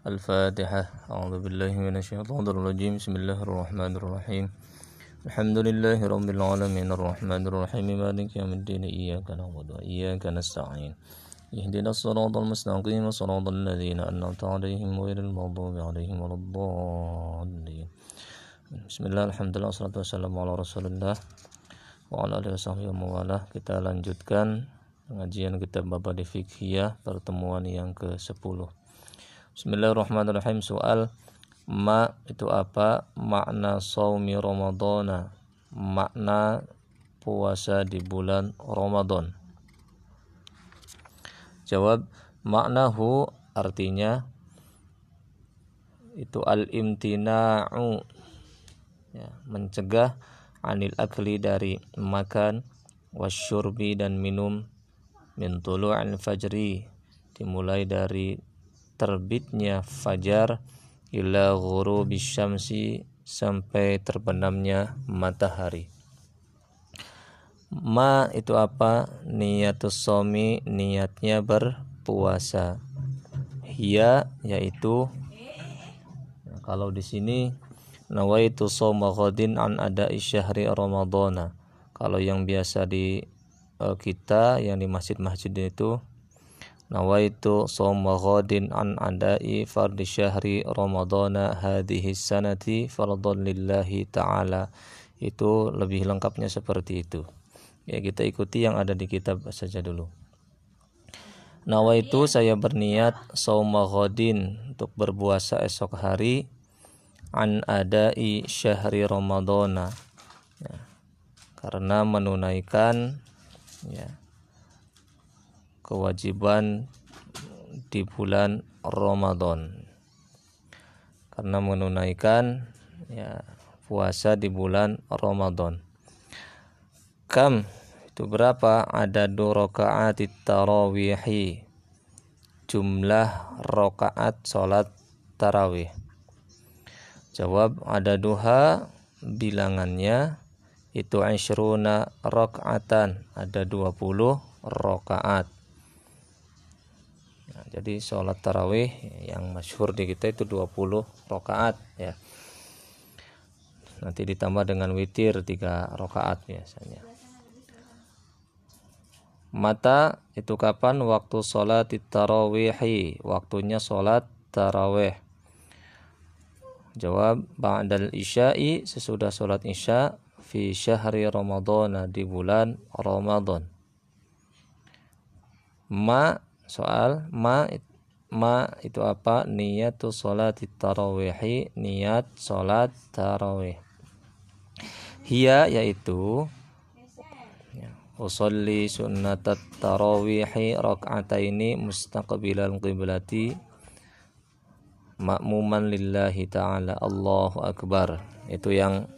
Al-Fatihah. A'udzubillahi minasyaitonirrajim. Bismillahirrahmanirrahim. Alhamdulillahi rabbil alamin arrahmanirrahim maliki yaumiddin iyyaka na'budu wa iyyaka nasta'in. Ihdinas siratal mustaqim siratal ladzina an'amta 'alaihim ghairil maghdubi 'alaihim waladdallin. Bismillah, alhamdulillah, wassalatu wassalamu ala Rasulillah wa ala alihi washabbihi wa mawalah. Kita lanjutkan pengajian kitab Mabadi Fiqhiyah pertemuan yang ke-10. Bismillahirrahmanirrahim. Soal ma itu apa? Makna shaumi Ramadhana, makna puasa di bulan Ramadan. Jawab, maknahu artinya itu al-imtina'u, ya, mencegah anil akli dari makan, wasyurbi dan minum, min tulu'il fajri dimulai dari terbitnya fajar, ila ghurubis syamsi sampai terbenamnya matahari. Ma itu apa? Niyatus shaumi, niatnya berpuasa. Hiya yaitu, kalau di sini nawaitu shauma ghadin an ada'i syahri ramadhana. Kalau yang biasa di kita yang di masjid-masjid itu nawaitu shauma ghadin an ada'i fardhi syahri ramadhana hadhihi sanati fardhan lillahi ta'ala. Itu lebih lengkapnya seperti itu. Ya, kita ikuti yang ada di kitab saja dulu. Nawaitu, saya berniat, shauma ghadin, untuk berpuasa esok hari, an ada'i syahri ramadhana, ya, karena menunaikan, ya, kewajiban di bulan Ramadan, karena menunaikan, ya, puasa di bulan Ramadan. Kam itu berapa? Ada 2 rakaat tarawih, jumlah rakaat salat tarawih. Jawab, ada duha, bilangannya itu 20 rakaatan, ada 20 rakaat. Jadi sholat tarawih yang masyhur di kita itu 20 rakaat, ya. Nanti ditambah dengan witir 3 rakaat biasanya. Mata itu kapan? Waktu sholat tarawih, waktunya sholat tarawih. Jawab, ba'dal isya'i, sesudah sholat isya, fi syahri ramadhan, di bulan Ramadan. Ma, soal ma itu apa? Niyatu sholati tarawih, niat sholat tarawih. Hiya yaitu, ya, usolli sunnatat tarawih rak'ataini mustaqbilal qiblati ma'muman lillahi ta'ala, Allahu akbar. Itu yang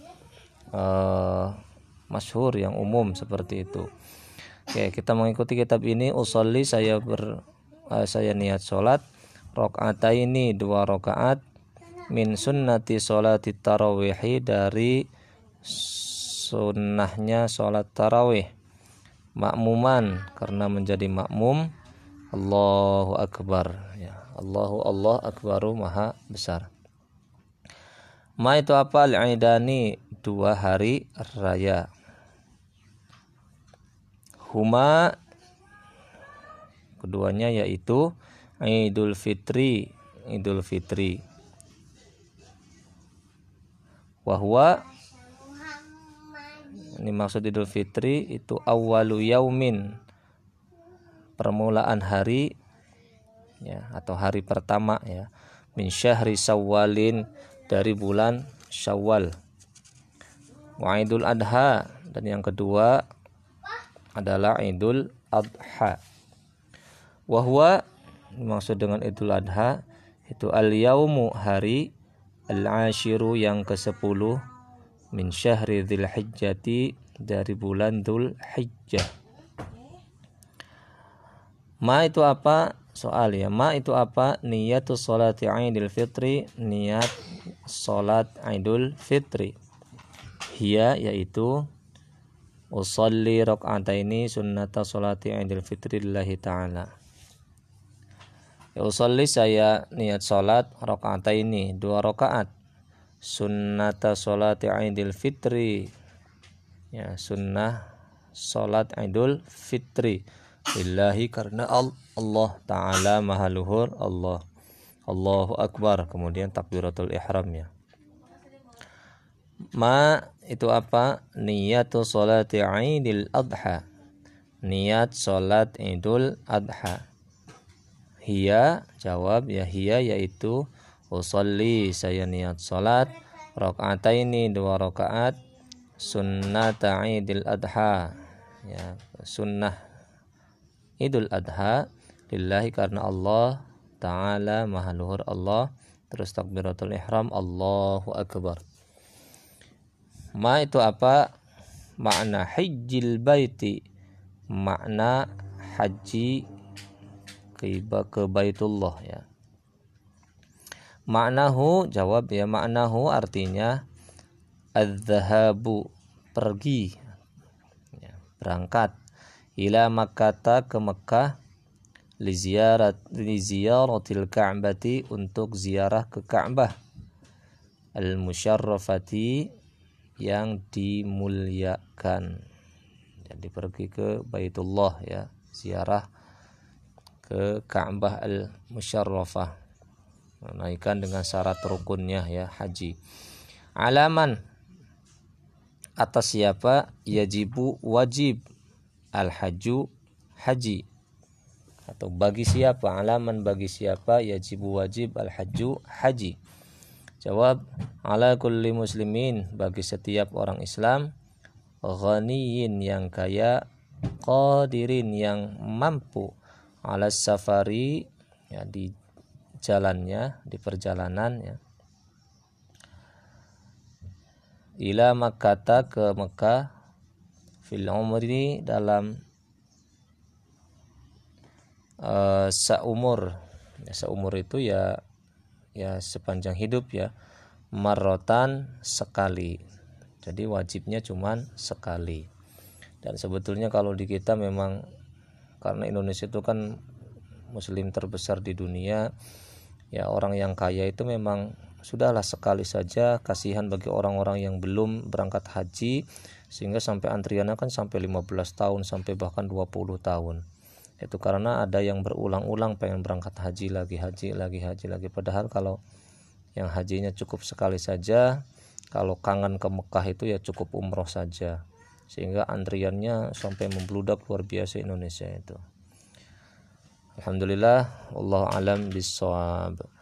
masyhur, yang umum seperti itu. Oke, kita mengikuti kitab ini. Usolli, saya niat sholat, rak'ataini 2 rakaat, min sunnati sholati tarawih, dari sunnahnya sholat tarawih, makmuman, karena menjadi makmum, Allahu akbar, ya, Allah akbaru, maha besar. Ma itu apa? Al-Aidani, 2 hari raya. Huma, keduanya yaitu Idul Fitri, wahwa, ini maksud Idul Fitri itu awwalu yaumin, permulaan hari, ya, atau hari pertama, ya, min syahri Syawalin, dari bulan Syawal. Wa Idul Adha, dan yang kedua adalah Idul Adha. Wahwa, maksud dengan Idul Adha itu al-yaumu, hari, al-ashiru, yang ke-10, min syahri dzulhijjati, dari bulan Dzulhijjah. Ma itu apa? Soal, ya, ma itu apa? Niyatus sholati Idul Fitri, niat salat Idul Fitri. Hiya yaitu usolli rak'ataini sunnata sholati Idul Fitri lillahi ta'ala. Ya usolli, saya niat sholat rakaataini, 2 rakaat. Sunnata sholati Idul Fitri, ya sunnah sholat Idul Fitri, lillahi, karena Allah Ta'ala maha luhur, Allah. Allahu Akbar, kemudian takbiratul ihram ya. Ma itu apa? Niyatu sholati Idul Adha, niat sholat Idul Adha. Hiya, jawab ya, hiya yaitu usolli, saya niat sholat rakaataini, 2 rakaat, sunnata Idul Adha, ya sunnah Idul Adha, lillahi, karena Allah Ta'ala maha luhur, Allah. Terus takbiratul ihram, Allahu Akbar. Ma itu apa? Makna hajjil baiti, makna haji ke Baitullah ya. Maknahu, jawab ya, maknahu artinya adz-dzahabu, pergi ya, berangkat, ila Makkah, ke Mekah, li ziyaratil Ka'bati, untuk ziarah ke Ka'bah, al-musyarrafati, yang dimuliakan. Jadi pergi ke Baitullah ya, ziarah ke Ka'bah al-musyarrafah, menunaikan dengan syarat rukunnya ya, haji. Alaman, atas siapa? Yajibu, wajib, al-haju, haji. Atau bagi siapa? Alaman, bagi siapa? Yajibu, wajib, al-haju, haji. Jawab, ala kulli muslimin, bagi setiap orang Islam, ghaniyin, yang kaya, qadirin, yang mampu, ala safari, ya di jalannya, di perjalanan ya, ila Makkah, ke Mekah, fil umri, dalam seumur ya, seumur itu ya sepanjang hidup ya, marrotan, sekali. Jadi wajibnya cuman sekali. Dan sebetulnya kalau di kita memang, karena Indonesia itu kan muslim terbesar di dunia ya, orang yang kaya itu memang sudahlah sekali saja, kasihan bagi orang-orang yang belum berangkat haji, sehingga sampai antriannya kan sampai 15 tahun, sampai bahkan 20 tahun. Itu karena ada yang berulang-ulang pengen berangkat haji lagi, padahal kalau yang hajinya cukup sekali saja, kalau kangen ke Mekah itu ya cukup umroh saja, sehingga antriannya sampai membludak luar biasa Indonesia itu. Alhamdulillah, wallahu alam bissawab.